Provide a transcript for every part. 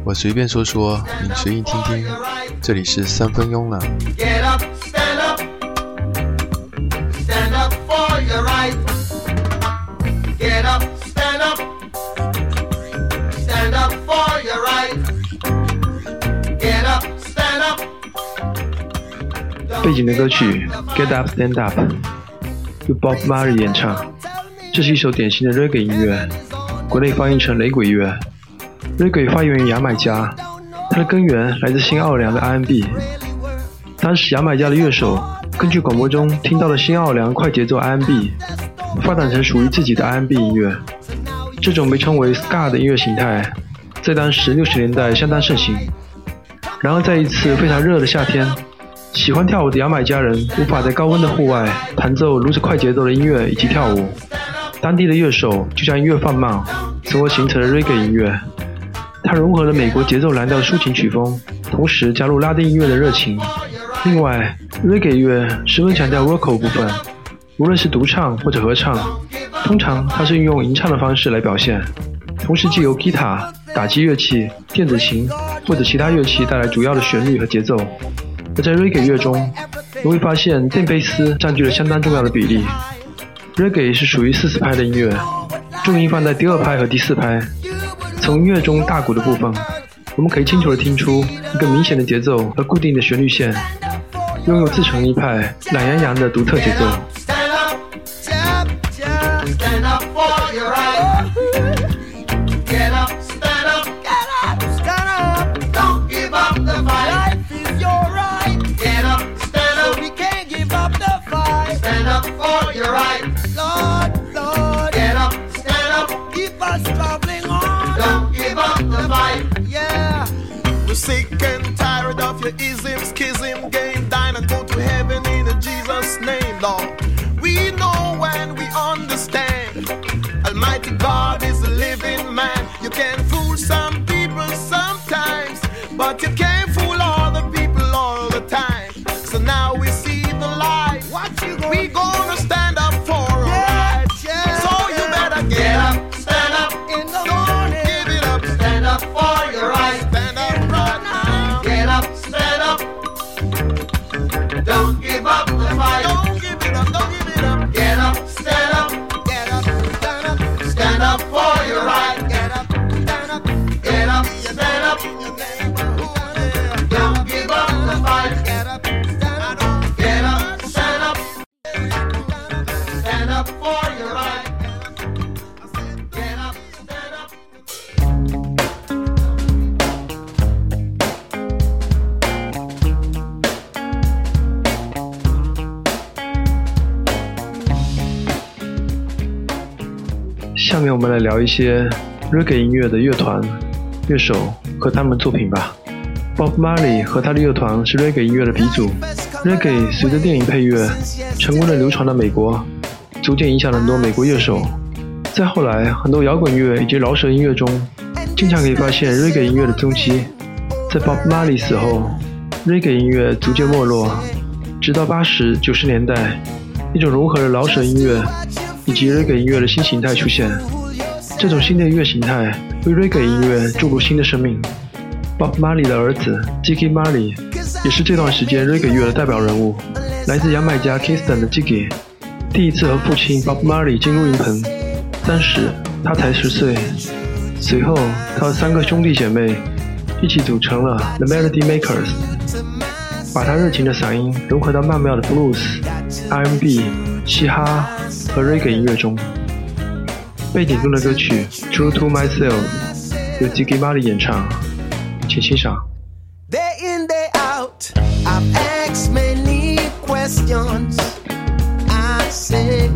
我随便说说，你随意听听。这里是三分慵懒。 Get up, stand up, stand up for your right. Get up, stand up, stand up for your right. Get up, stand up. 背景的歌曲 Get Up Stand Up 由 Bob Marley 演唱，这是一首典型的 Reggae 音乐，国内翻译成雷鬼乐。Reggae 发源于牙买加，它的根源来自新奥尔良的 R&B。当时牙买加的乐手根据广播中听到了新奥尔良快节奏 R&B， 发展成属于自己的 R&B 音乐。这种被称为 Ska 的音乐形态，在当时60年代相当盛行。然而在一次非常热的夏天，喜欢跳舞的牙买加人无法在高温的户外弹奏如此快节奏的音乐以及跳舞，当地的乐手就将音乐放慢，从而形成了 Reggae 音乐。它融合了美国节奏蓝调的抒情曲风，同时加入拉丁音乐的热情。另外 Reggae 乐十分强调 vocal 部分，无论是独唱或者合唱，通常它是运用吟唱的方式来表现，同时藉由吉他、打击乐器、电子琴或者其他乐器带来主要的旋律和节奏。而在 Reggae 乐中，你会发现电贝斯占据了相当重要的比例。Reggae 是属于40拍的音乐，重音放在第2拍和第4拍。从音乐中大鼓的部分，我们可以清楚地听出一个明显的节奏和固定的旋律线，拥有自成一派懒洋洋的独特节奏。 Sick and tired of your ism, schism, game, dine and go to heaven in Jesus' name, Lord. We know and we understand Almighty God is a living man. You can fool some people sometimes, but you can't fool all the people all the time. So now we see the light. We gonna stand up for our rights. So you better get up, stand up, don't give it up, stand up for your right. Stand up right now. Get up, stand up. Don't give up the fight. Don't give it up, don't give it up. Get up, stand up. Get up, stand up. Stand up for your right. Get up, stand up. Get up, stand up. In your neighborhood. Don't give up the fight. Get up, stand up. Get up, stand up. Stand up for your right. Get up, stand up. 下面我们来聊一些 Reggae 音乐的乐团、乐手和他们作品吧。Bob Marley 和他的乐团是 Reggae 音乐的鼻祖。Reggae 随着电影配乐成功地流传到美国，逐渐影响了很多美国乐手。再后来，很多摇滚乐以及饶舌音乐中，经常可以发现 Reggae 音乐的踪迹。在 Bob Marley 死后， Reggae 音乐逐渐没落，直到80、90年代，一种融合了饶舌音乐以及 Reggae 音乐的新形态出现。这种新的音乐形态为 Reggae 音乐注入新的生命。Bob Marley 的儿子 Ziggy Marley 也是这段时间 Reggae 乐的代表人物。来自牙买加 Kingston 的 Ziggy 第一次和父亲 Bob Marley 进入录音棚，当时他才10岁。随后他和3个兄弟姐妹一起组成了 The Melody Makers， 把他热情的嗓音融合到曼妙的 Blues、R&B、嘻哈和 Reggae 音乐中。背景中的歌曲 True to Myself 由 Ziggy Marley 演唱，请欣赏。 Day in, day out, I've asked many questions. I say,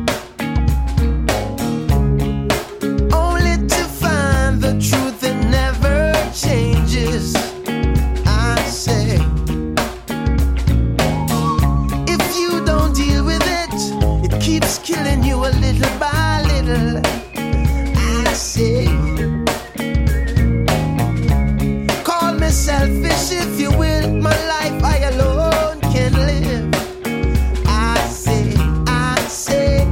only to find the truth that never changes. I say, if you don't deal with it, it keeps killing you a little by little. I say, call me selfish if you will, my life I alone can live. I say,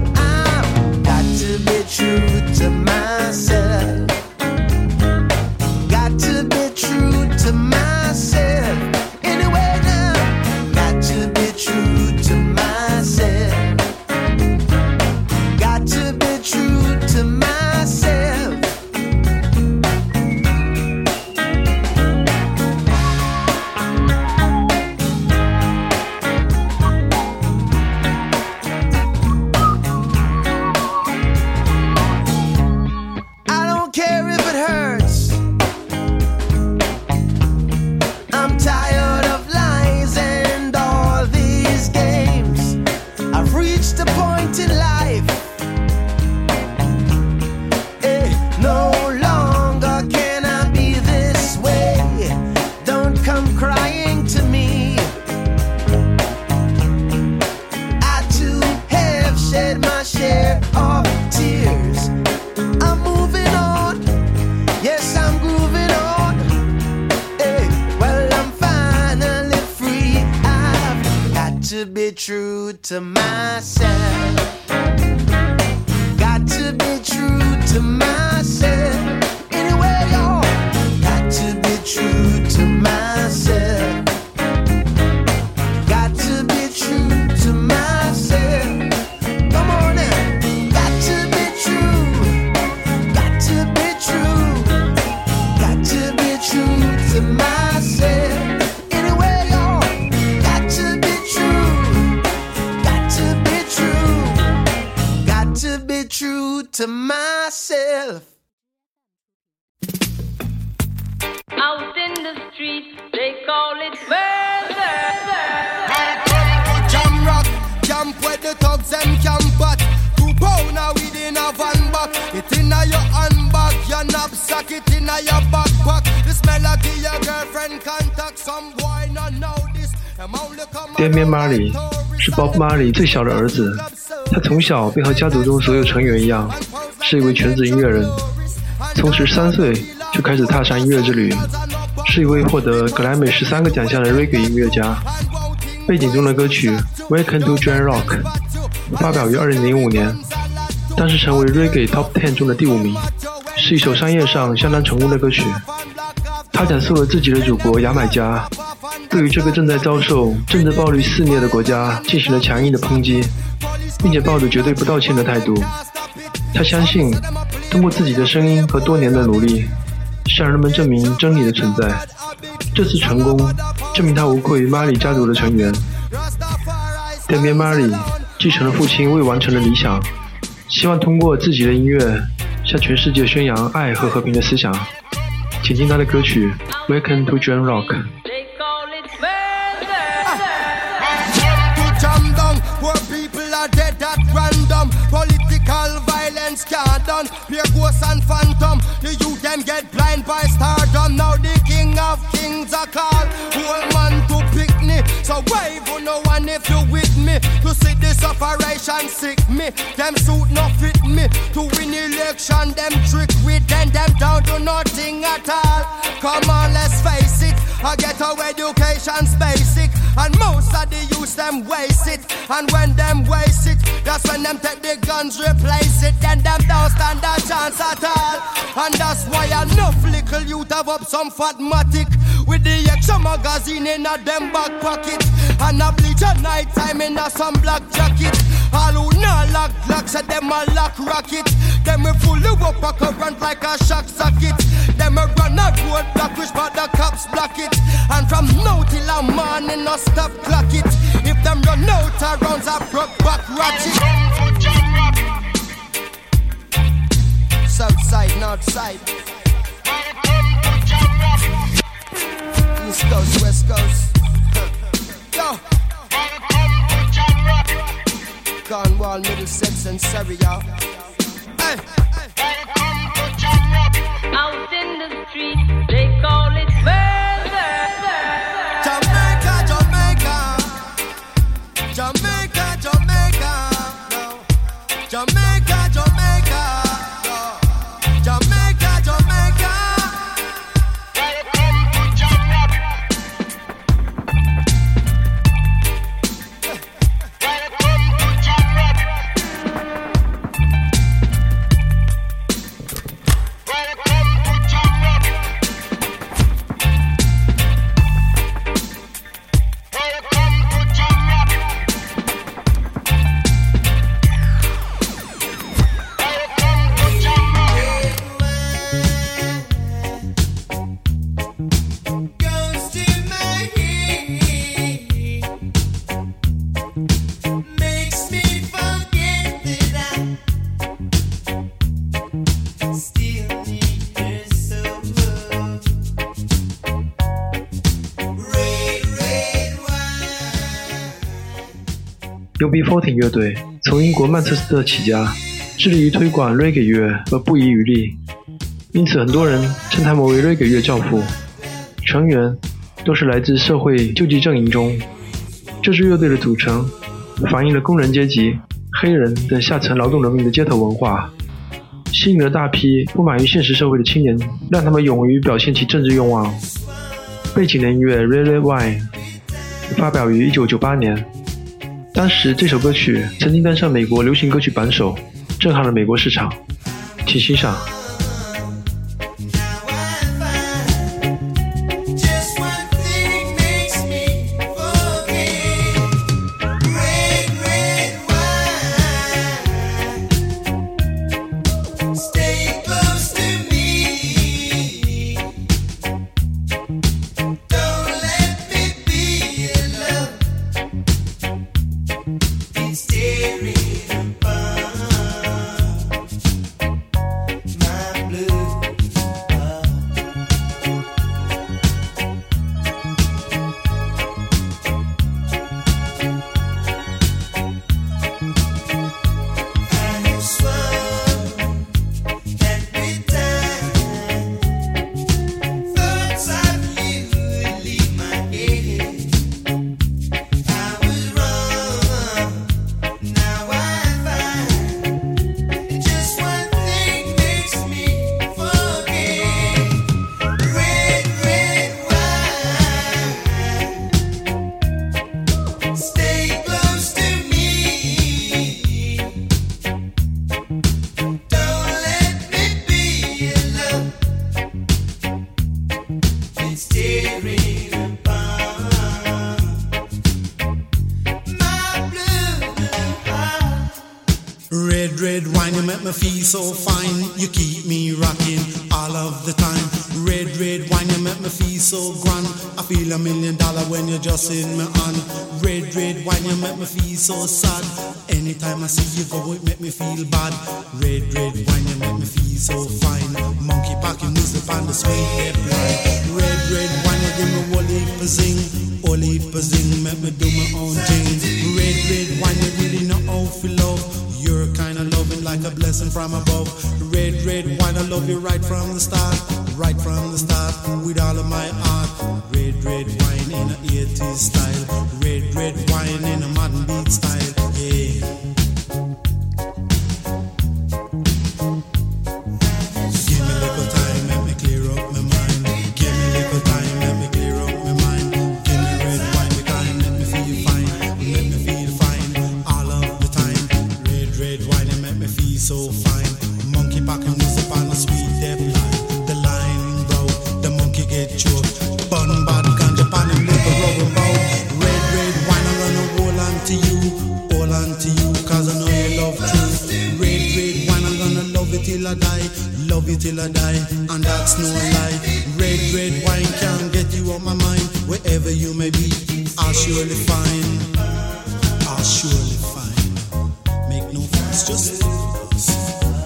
to be true to myself. Got to be true to myself. Anyway, y'all. Got to be true to myself. Got to be true to myself. Come on now. Got to be true. Got to be true. Got to be true to myself. Anyway, y'all. Got to be true. Got to be true. Got to be true to myself. Out in the streets, they call it murder. Jam rock, camp where the thugs them camp at. 2 pound now within a van back. It inna your handbag, your knapsack, it inna your backpack. The smell of your girlfriend contact. Some boy not know this. Damian Marley 是 Bob Marley 最小的儿子，他从小便和家族中所有成员一样，是一位全职音乐人。从13岁就开始踏上音乐之旅，是一位获得格莱美13个奖项的 Reggae 音乐家。背景中的歌曲 Welcome to Drum Rock 发表于2005年，当时成为 Reggae Top 10中的第5名，是一首商业上相当成功的歌曲。他讲述了自己的祖国牙买加对于这个正在遭受政治暴力肆虐的国家进行了强硬的抨击，并且抱着绝对不道歉的态度。他相信通过自己的声音和多年的努力向人们证明真理的存在，这次成功证明他无愧于马里家族的成员。Damian Marley 继承了父亲未完成的理想，希望通过自己的音乐向全世界宣扬爱和和平的思想。请听他的歌曲 Welcome to Drum Rock。 They call it murder. To jam down, poor people are dead at random. Political violence can't done. Pure ghosts and phantom. The youth them get blind by stardom. Now the king of kings are called. Whole man to picnic. So wave on no one if you with me. To see this operation sick me. Them suit not fit me. To win election them trick with them down to nothing at all. Come on, let's face it. I get our education's basic. And most of the youth them waste it. And when them waste it, that's when them take the guns replace it. Then them don't stand a chance at all. And that's why enough little youth have up some fatmatic with the extra magazine in a them back pocket. And a bleach at night time in a some black jacket. All who not lock lock said them a lock rocket. Them we fully up a current like a shock socket. Them a run a road block which but the cops block it. And from now till a morning no stop clock it. If them run out of rounds a broke back ratchet. South side, north side. East coast, west coast. Yo. Cornwall, Middlesex and Surrey, y'all. Hey. Out in the streets, they call it murder. Jamaica, Jamaica. Jamaica, Jamaica. No. Jamaica, Jamaica. No. Jamaica, Jamaica. UB40 乐队从英国曼彻斯特起家，致力于推广 Reggae 乐而不遗余力，因此很多人称他们为 Reggae 乐教父。成员都是来自社会救济阵营中。这支乐队的组成反映了工人阶级、黑人等下层劳动人民的街头文化，吸引了大批不满于现实社会的青年，让他们勇于表现其政治愿望。背景的音乐 Red Red Wine 发表于1998年， 当时这首歌曲曾经登上美国流行歌曲榜首，震撼了美国市场。请欣赏。 Red, red wine, you make me feel so fine. You keep me rocking all of the time. Red, red wine, you make me feel so grand. I feel $1 million when you're just in my hand. Red, red wine, you make me feel so sad. Anytime I see you go, it make me feel bad. Red, red wine, you make me feel so fine. Monkey packing music on the sweet hip line. Red, red wine, you give me whole heap of zing. Whole heap of zing, make me do my own thing. Red, red wine, you really know how to love. You're kind of loving like a blessing from above. Red, red wine, I love you right from the start. Right from the start, with all of my heart. Red, red wine in a 80s style. Red, red wine in a modern beat style. Yeah. Give me a little time, let me clear up my mind. Give me a little time, let me clear up my mind. Give me red wine, the time, let me feel fine. Let me feel fine all of the time. Red wine, it make me feel so fine. Monkey packing music on a sweet depth line. The line broke, the monkey get choked. Bun bad ganja pan and liquor rubber bow. Red wine, I'm gonna hold on to you, cause I know you love truth. Red wine, I'm gonna love it till I die. Love you till I die, and that's no lie. Red wine can't get you on my mind. Wherever you may be, I'll surely find. I'll surely find. Make no fuss, just live with us.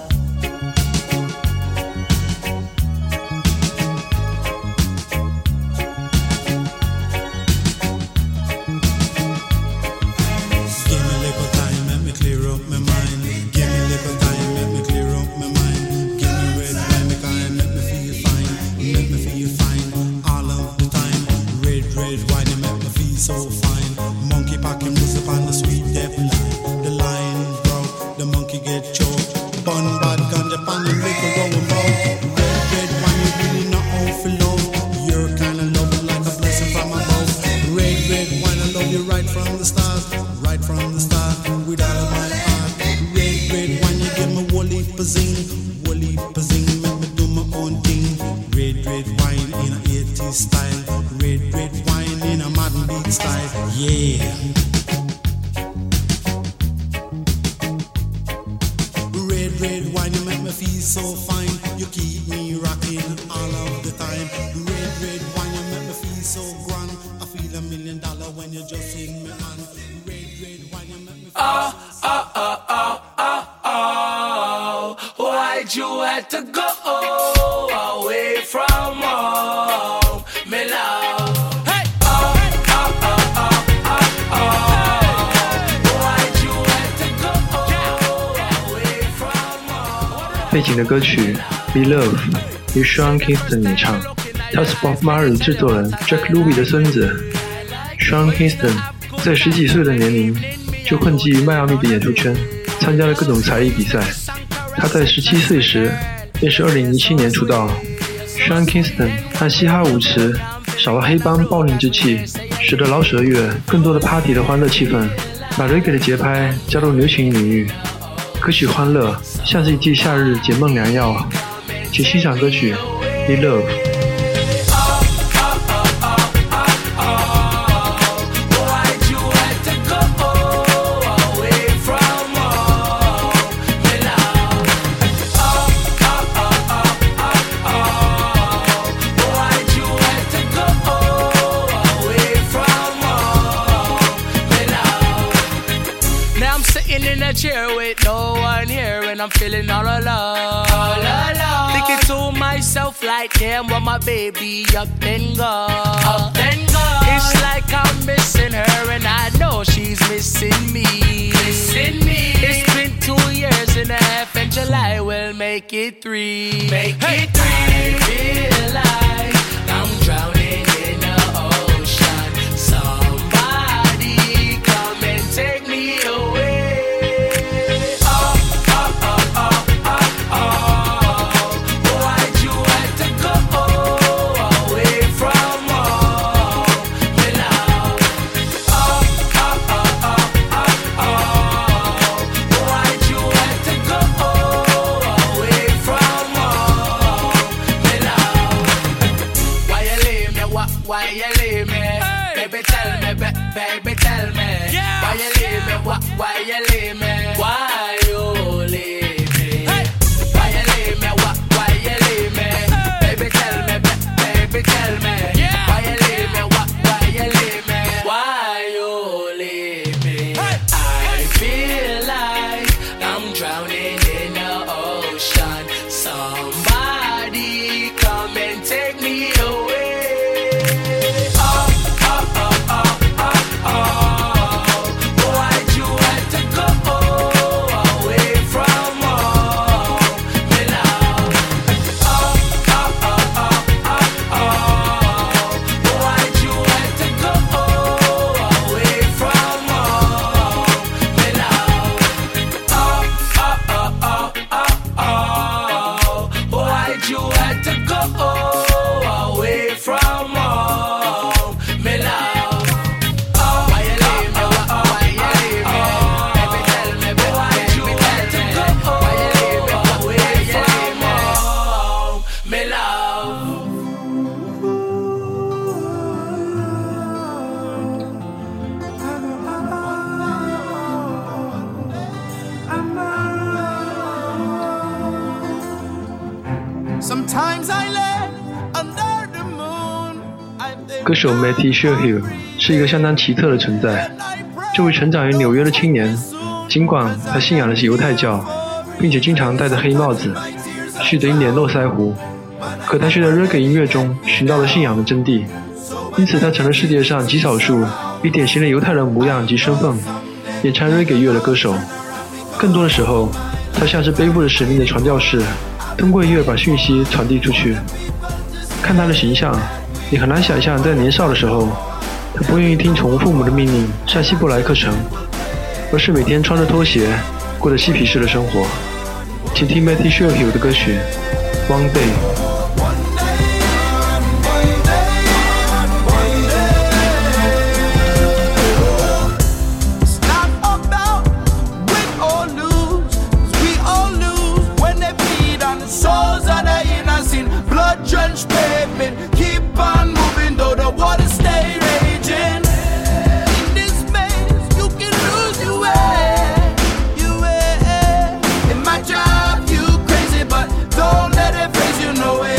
Give me a little time, let me clear up my mind. Give me a little time, let me clear up my mind. Give me red wine, make I make me feel fine. Make me feel fine all of the time. Red wine, you make me feel so fine. Monkey packing music on the sweet depth line. The line broke, the monkey get choked. Bun bad ganja pan and liquor going bout. Red wine, you really know how to love. You're kinda loving like a blessing from above. Red wine, I love you right from the start. Right from the start, with all of my heart. Red wine, you give me whole heap of zing. Whole heap of zing, make me do my own thing. Red wine in a 80s style. Red wine in a modern beat style. Yeah. Red wine, you make me feel so fine. You keep me rocking all of the time. Red wine, you make me feel so grand. I feel $1 million when you're just in me hand. Red wine, you make me feel Why'd you have to go away from home, me love? Hey! Why'd you have to go away from home? 背景的歌曲《Be Love》由 Sean Kingston 演唱，他是 Bob Marley 制作人 Jack Ruby 的孙子。Sean Kingston 在10几岁的年龄就混迹于迈阿密的演出圈，参加了各种才艺比赛。他在17岁时便是2007年出道。Sean Kingston 和嘻哈舞池少了黑帮暴戾之气，使得老舍乐更多的 party 的欢乐气氛。 把 reggae 的节拍加入流行领域，歌曲欢乐，像是一剂夏日解闷良药。请欣赏歌曲《Need Love》。 Chair with no one here and I'm feeling all alone. Thinking to myself like, damn, what my baby up then go. It's like I'm missing her and I know she's missing me. It's been 2 years and a half and July will make it 3. I feel like I'm drowning in the ocean. Somebody come and take me away. Why you leave me? Hey. Baby, tell me, baby, tell me. Yeah. Why you leave me? Why you leave me? Why you leave me? Hey. Why you leave me? Why you leave me? Hey. Baby, tell me, baby, tell me. Yeah. Why you leave me? Why you leave me? Why you leave me? Hey. I feel like I'm drowning in the ocean. Somebody come and take me away. Sometimes I lay under the moon. 歌手 Matty Sherhill 是一个相当奇特的存在。这位成长于纽约的青年，尽管他信仰的是犹太教，并且经常戴着黑帽子，蓄着一脸络腮胡，可他却在 reggae 音乐中寻到了信仰的真谛，因此他成了世界上极少数以典型的犹太人模样及身份演唱 reggae 乐的歌手。更多的时候，他像是背负着使命的传教士，通过音乐把讯息传递出去。看他的形象，你很难想象在年少的时候，他不愿意听从父母的命令上希伯来课程，而是每天穿着拖鞋过着嬉皮士的生活。请听 Matty Sherhill 的歌曲 One Day。 No way.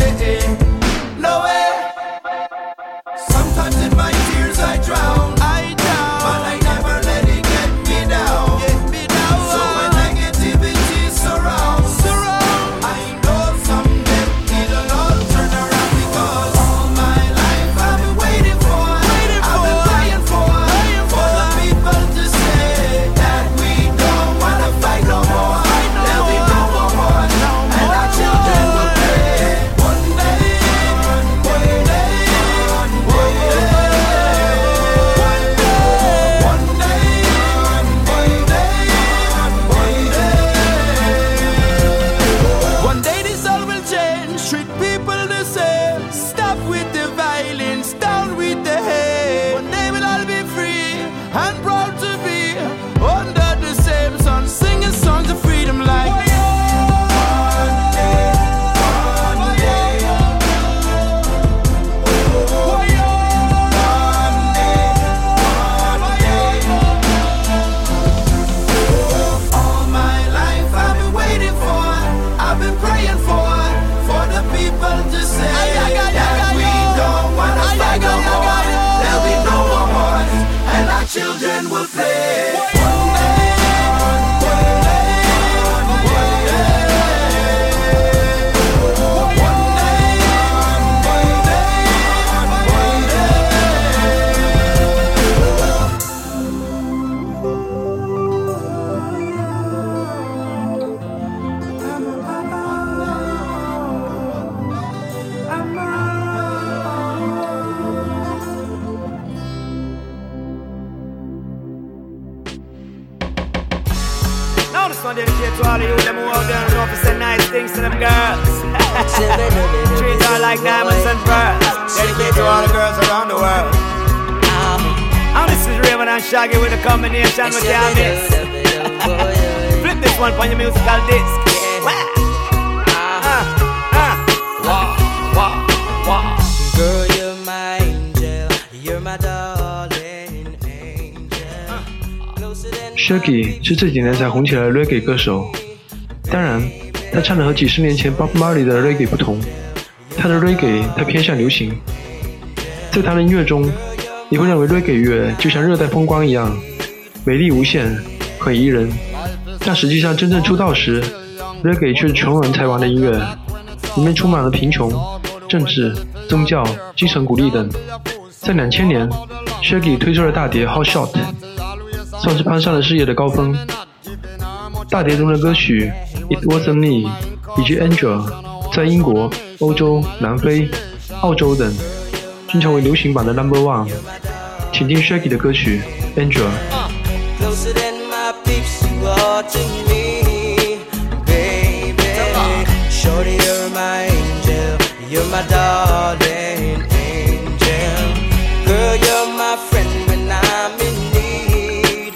This one dedicated to all of you them who out there and know to say nice things to them girls. Treat her like diamonds and pearls. Dedicated to all the girls around the world. And this is Raven and Shaggy with a combination with the miss. Flip this one on your musical disc. Girl, you're my angel, you're my darling angel. Closer than Shaggy 是这几年才红起来的 reggae 歌手，当然，他唱的和几十年前 Bob Marley 的 reggae 不同，他的 reggae 太偏向流行。在他的音乐中，你会认为 reggae 乐就像热带风光一样，美丽无限，很宜人。但实际上真正出道时 ，reggae 却是穷人才玩的音乐，里面充满了贫穷、政治、宗教、精神鼓励等。在2000年 ，Shaggy 推出了大碟《Hot Shot》，算是攀上了事业的高峰。大碟中的歌曲《It Wasn't Me》以及《Angel》在英国、欧洲、南非、澳洲等均成为流行榜的 No.1。请听 Shaggy 的歌曲《Angel》。 closer than my peeps, you are to me, baby. Shorty, you're my angel, you're my darling angel. Girl, you're my friend when I'm in need,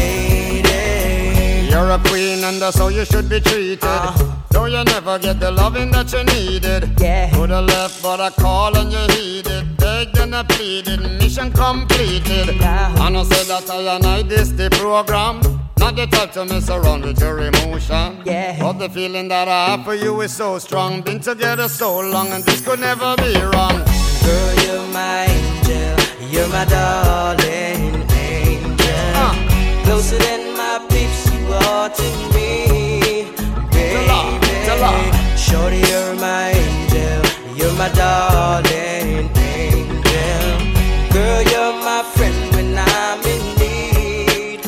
lady. You're a queen and that's how you should be treated. Though you never get the loving that you needed. Yeah. Could have left but I called and you heeded. Begged and I pleaded, mission completed. And I said that I this the program. Not the type to mess around with your emotion. Yeah. But the feeling that I have for you is so strong. Been together so long and this could never be wrong. Girl, you're my angel, you're my darling angel. Closer than my peeps, you are to me, baby. Shorty, you're my angel, you're my darling angel. Girl, you're my friend when I'm in need,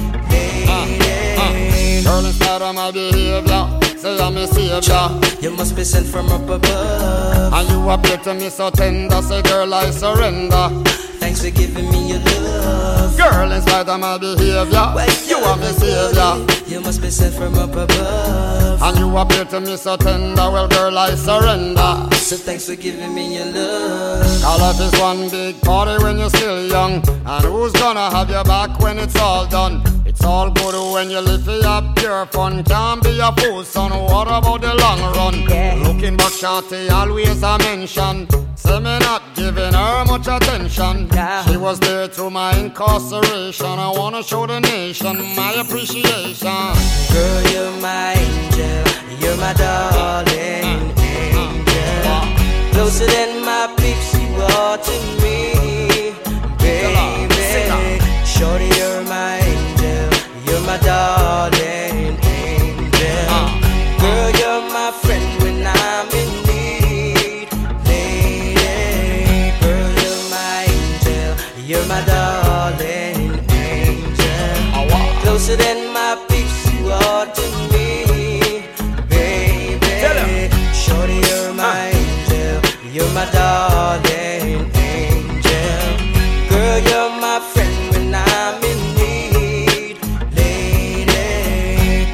lady. Girl, in spite of my behavior, say I'm a savior. You must be sent from up above. And you appear to me so tender, say girl I surrender. Thanks for giving me your love. Girl, in spite of my behavior, you are my savior. You must be sent from up above. And you appear to me so tender, well girl I surrender. So thanks for giving me your love. Our life is one big party when you're still young. And who's gonna have your back when it's all done? It's all good when you live for your pure fun. Can't be a fool, son, what about the long run? Yeah. Looking back, shawty, always a mention. Say me not giving her much attention. Yeah. She was there through my incarceration. I wanna show the nation my appreciation. Girl, you're my angel, you're my darling angel. Closer than my peeps, you are to me, baby. Shorty, you're my angel, you're my darling angel. Girl, you're my friend when I'm in need, lady. Girl, you're my angel, you're my darling angel. Closer than my peeps, you are to me, baby. Shorty, you're my angel, you're my darling angel. Girl, you're my friend when I'm in need, lady.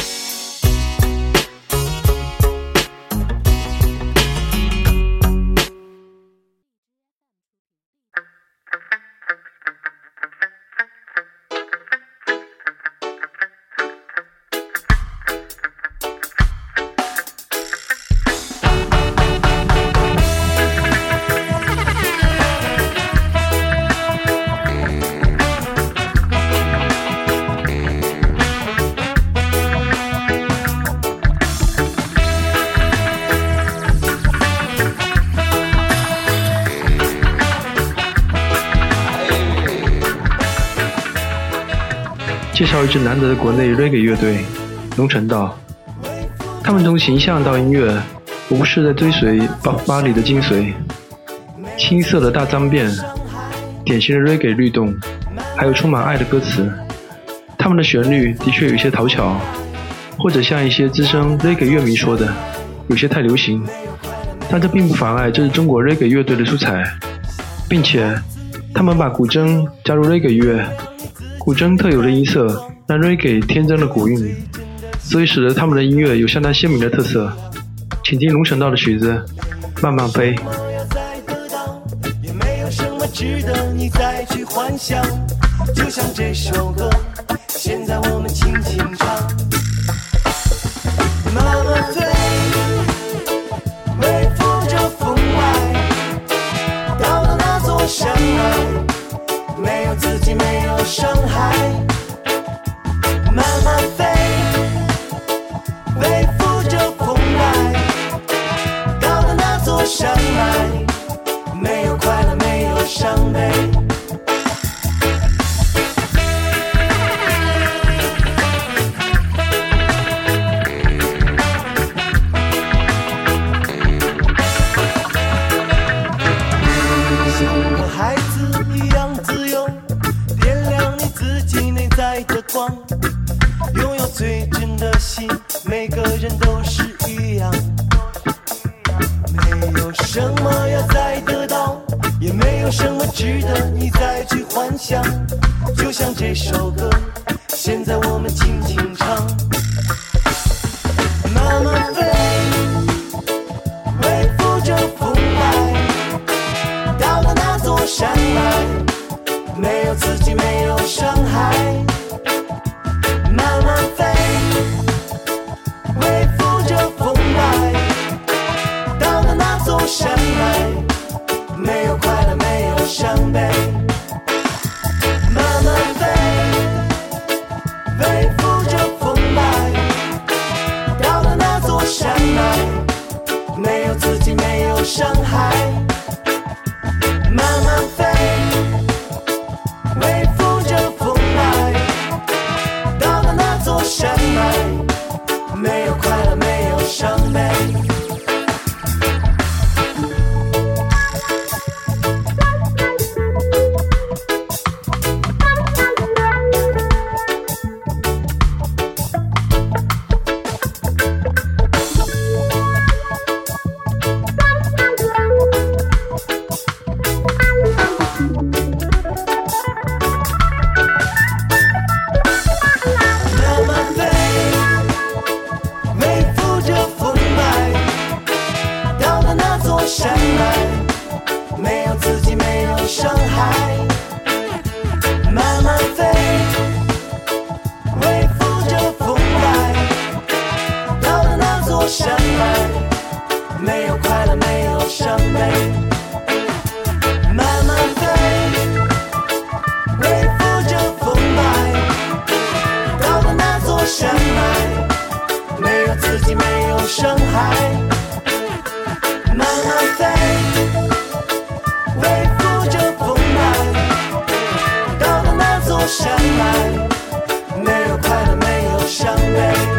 介绍一支难得的国内 reggae 乐队龙城道。他们从形象到音乐，无不是在追随 Bob Marley 的精髓。青涩的大脏辫，典型的 reggae 律动，还有充满爱的歌词。他们的旋律的确有一些讨巧，或者像一些资深 reggae 乐迷说的，有些太流行。但这并不妨碍这是中国 reggae 乐队的出彩，并且他们把古筝加入 reggae 乐，古筝特有的音色让 reggae 添增了古韵。 所以使得他们的音乐有相当鲜明的特色。请听龙神道的曲子《慢慢飞》。 也没有什么值得你再去幻想，就像这首歌，现在我们轻轻唱。慢慢飞，微拂着风来，到了那座山脉，没有自己，没有伤害。慢慢飞，微拂着风来，到了那座山脉，没有快乐，没有伤悲。像个孩子一样自由，点亮你自己内在的光，拥有最真的心，每个人都是一样。没有什么要再得到，也没有什么值得你再去幻想，就像这首歌，现在我们轻轻唱。慢慢飞，微拂着风来，到了那座山脉，没有自己，没有伤害。慢慢飞，微拂着风来，到了那座山脉，没有快乐，没有伤悲。慢慢飞，微拂着风来，到了那座山脉，没有自己，没有伤害。慢慢飞，微拂着风来，到了那座山脉，没有快乐，没有伤悲。慢慢飞，微拂着风来，到了那座山脉，没有自己，没有伤害。慢慢飞，微拂着风来，到了那座山脉，没有快乐，没有伤悲。慢慢飞，微拂着风来，到了那座山脉，没有自己，没有伤害。慢慢飞，微拂着风来，到了那座山脉，没有快乐，没有伤悲。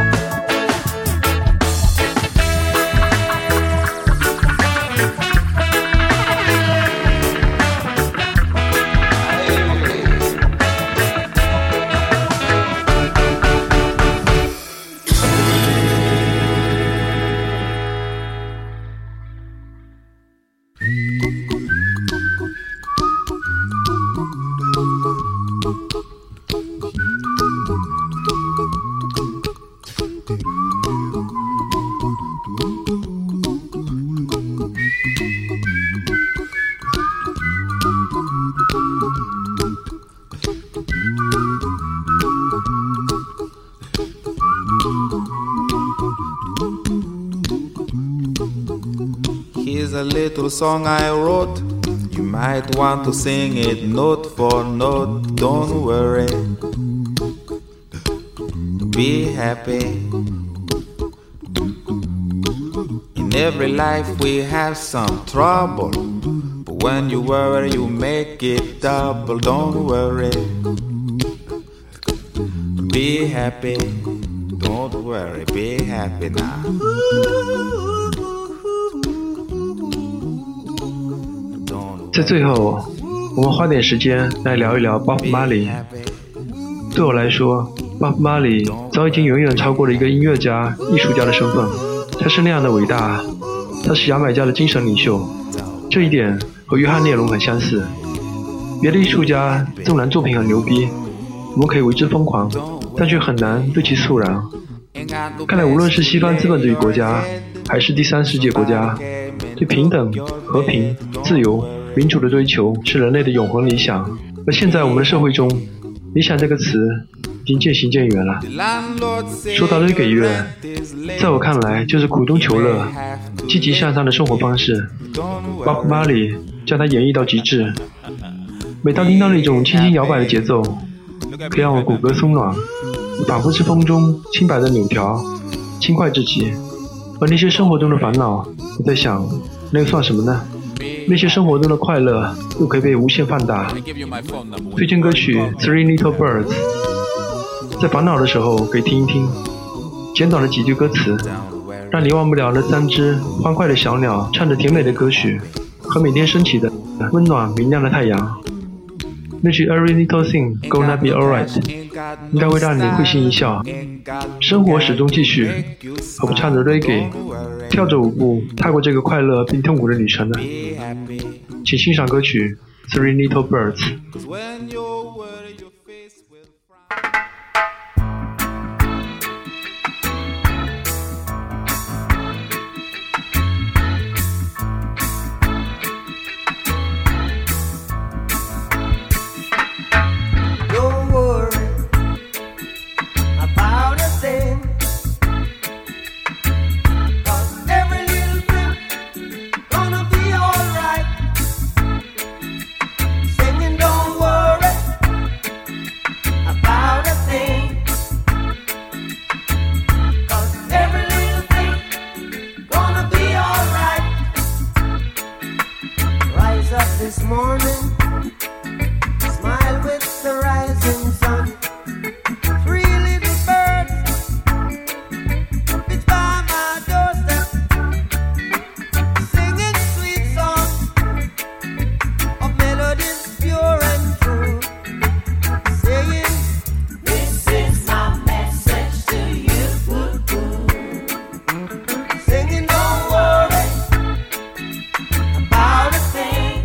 Here's a little song I wrote. You might want to sing it note for note. Don't worry. Be happy. In every life we have some trouble. But when you worry, you make it double. Don't worry. Be happy. Don't worry. Be happy now. 在最后，我们花点时间来聊一聊 Bob Marley。对我来说 ，Bob Marley 早已经远远超过了一个音乐家、艺术家的身份。他是那样的伟大，他是牙买加的精神领袖。这一点和约翰列侬很相似。别的艺术家纵然作品很牛逼，我们可以为之疯狂，但却很难对其肃然。 看来无论是西方资本主义国家，还是第三世界国家，对平等、和平、自由、民主的追求是人类的永恒理想。而现在我们的社会中，理想这个词已经渐行渐远了。说到reggae乐，在我看来就是苦中求乐、积极向上的生活方式。Bob Marley 将它演绎到极致。每当听到那种轻轻摇摆的节奏，可以让我骨骼松软，仿佛是风中轻摆的柳条，轻快至极。而那些生活中的烦恼，我在想，那又算什么呢？那些生活中的快乐又可以被无限放大。推荐歌曲 Three Little Birds， 在烦恼的时候可以听一听，简短的几句歌词，让你忘不了那3只欢快的小鸟唱着甜美的歌曲，和每天升起的温暖明亮的太阳。那句 Every little thing gonna be alright 应该会让你会心一笑。生活始终继续，何不唱着 reggae， 跳着舞步踏过这个快乐并痛苦的旅程呢？请欣赏歌曲 Three Little Birds。 This morning, smile with the rising sun. 3 little birds, it's by my doorstep, singing sweet songs of melodies pure and true, saying, this is my message to you. Singing, don't worry about a thing.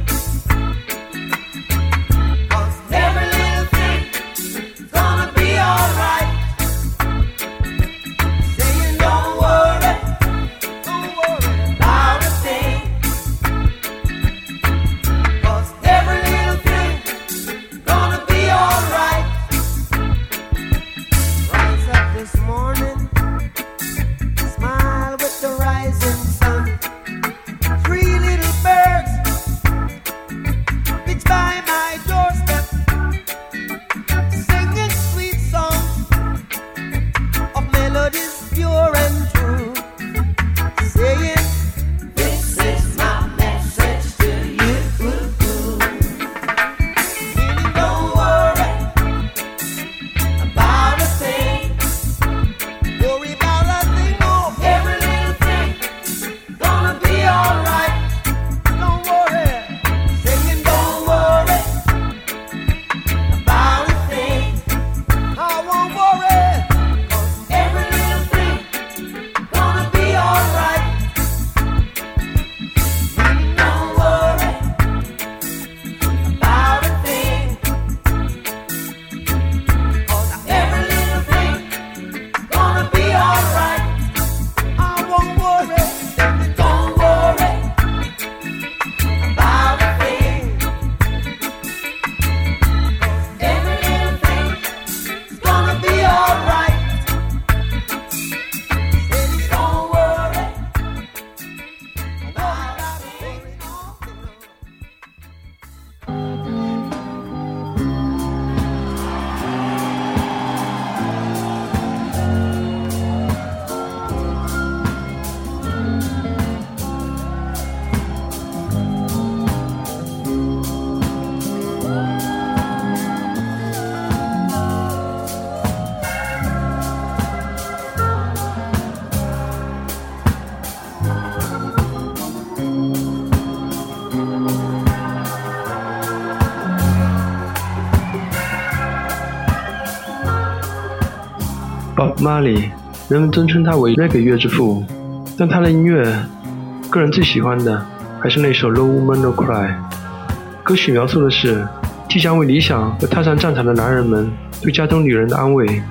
Bob Marley， 人们尊称他为 reggae 乐之父，但他的音乐，个人最喜欢的还是那首 No Woman No Cry。歌曲描述的是即将为理想而踏上战场的男人们对家中女人的安慰，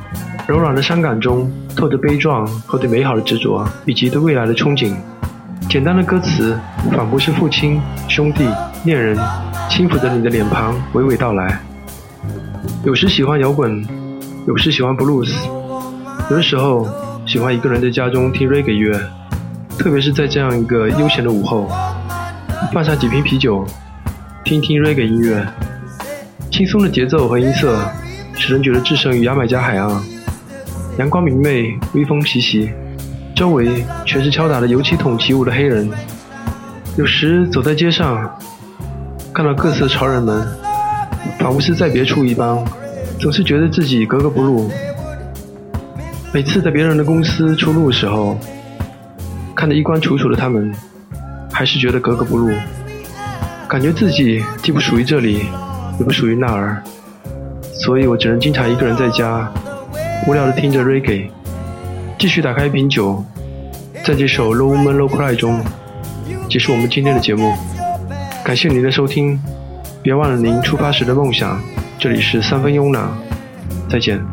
柔软的伤感中透着悲壮和对美好的执着，以及对未来的憧憬。简单的歌词仿佛是父亲、兄弟、恋人轻抚着你的脸庞娓娓道来。有时喜欢摇滚，有时喜欢 blues， 有的时候喜欢一个人在家中听 reggae 乐，特别是在这样一个悠闲的午后，放下几瓶啤酒，听听 reggae 音乐，轻松的节奏和音色使人觉得置身于牙买加海岸，阳光明媚，微风习习，周围全是敲打的油漆桶起舞的黑人。有时走在街上，看到各色潮人们，仿佛是在别处一般，总是觉得自己格格不入。每次在别人的公司出入的时候，看着衣冠楚楚的他们，还是觉得格格不入，感觉自己既不属于这里，也不属于那儿，所以我只能经常一个人在家，无聊地听着 reggae， 继续打开一瓶酒，在这首 Low Woman Low Cry 中结束我们今天的节目。感谢您的收听，别忘了您出发时的梦想。这里是三分慵懒，再见。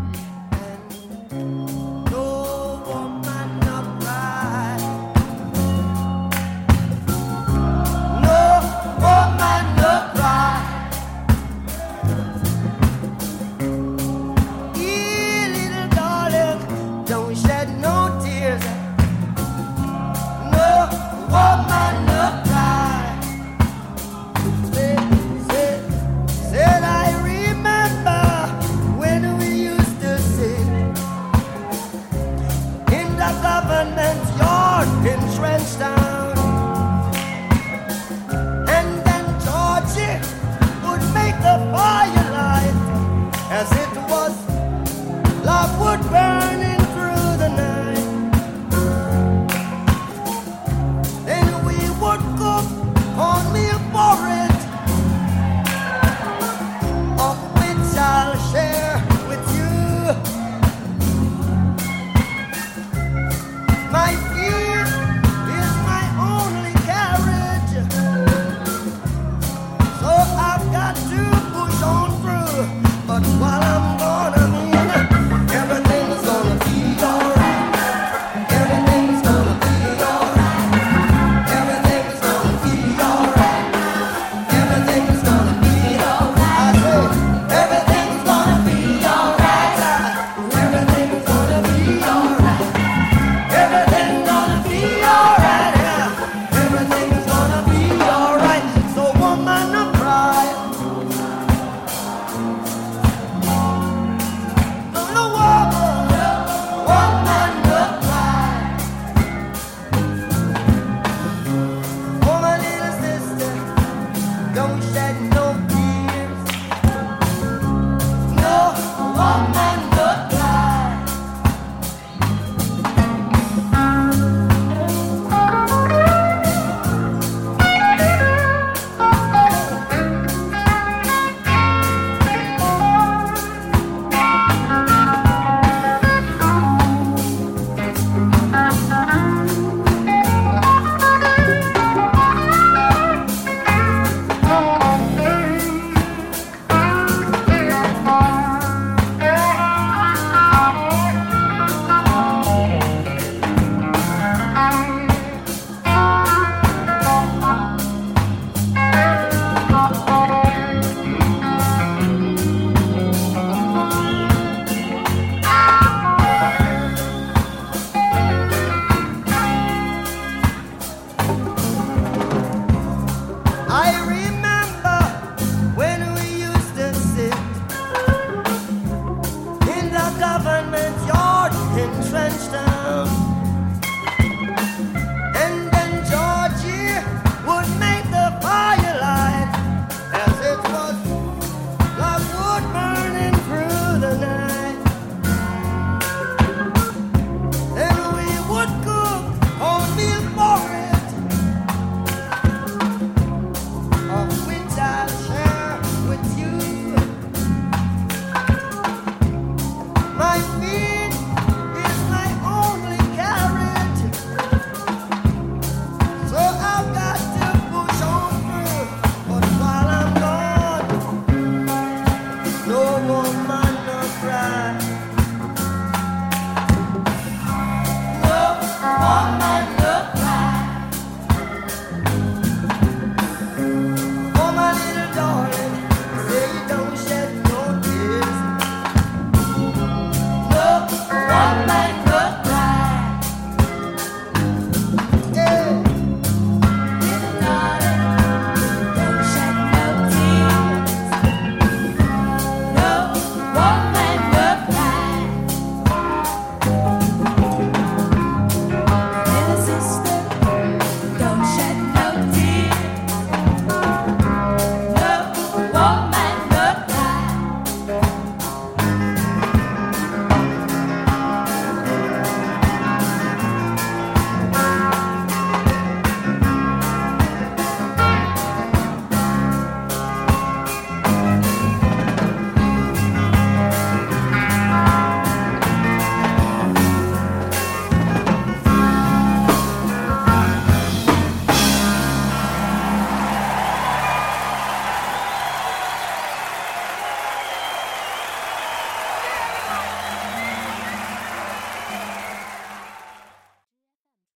Government yard entrenched down.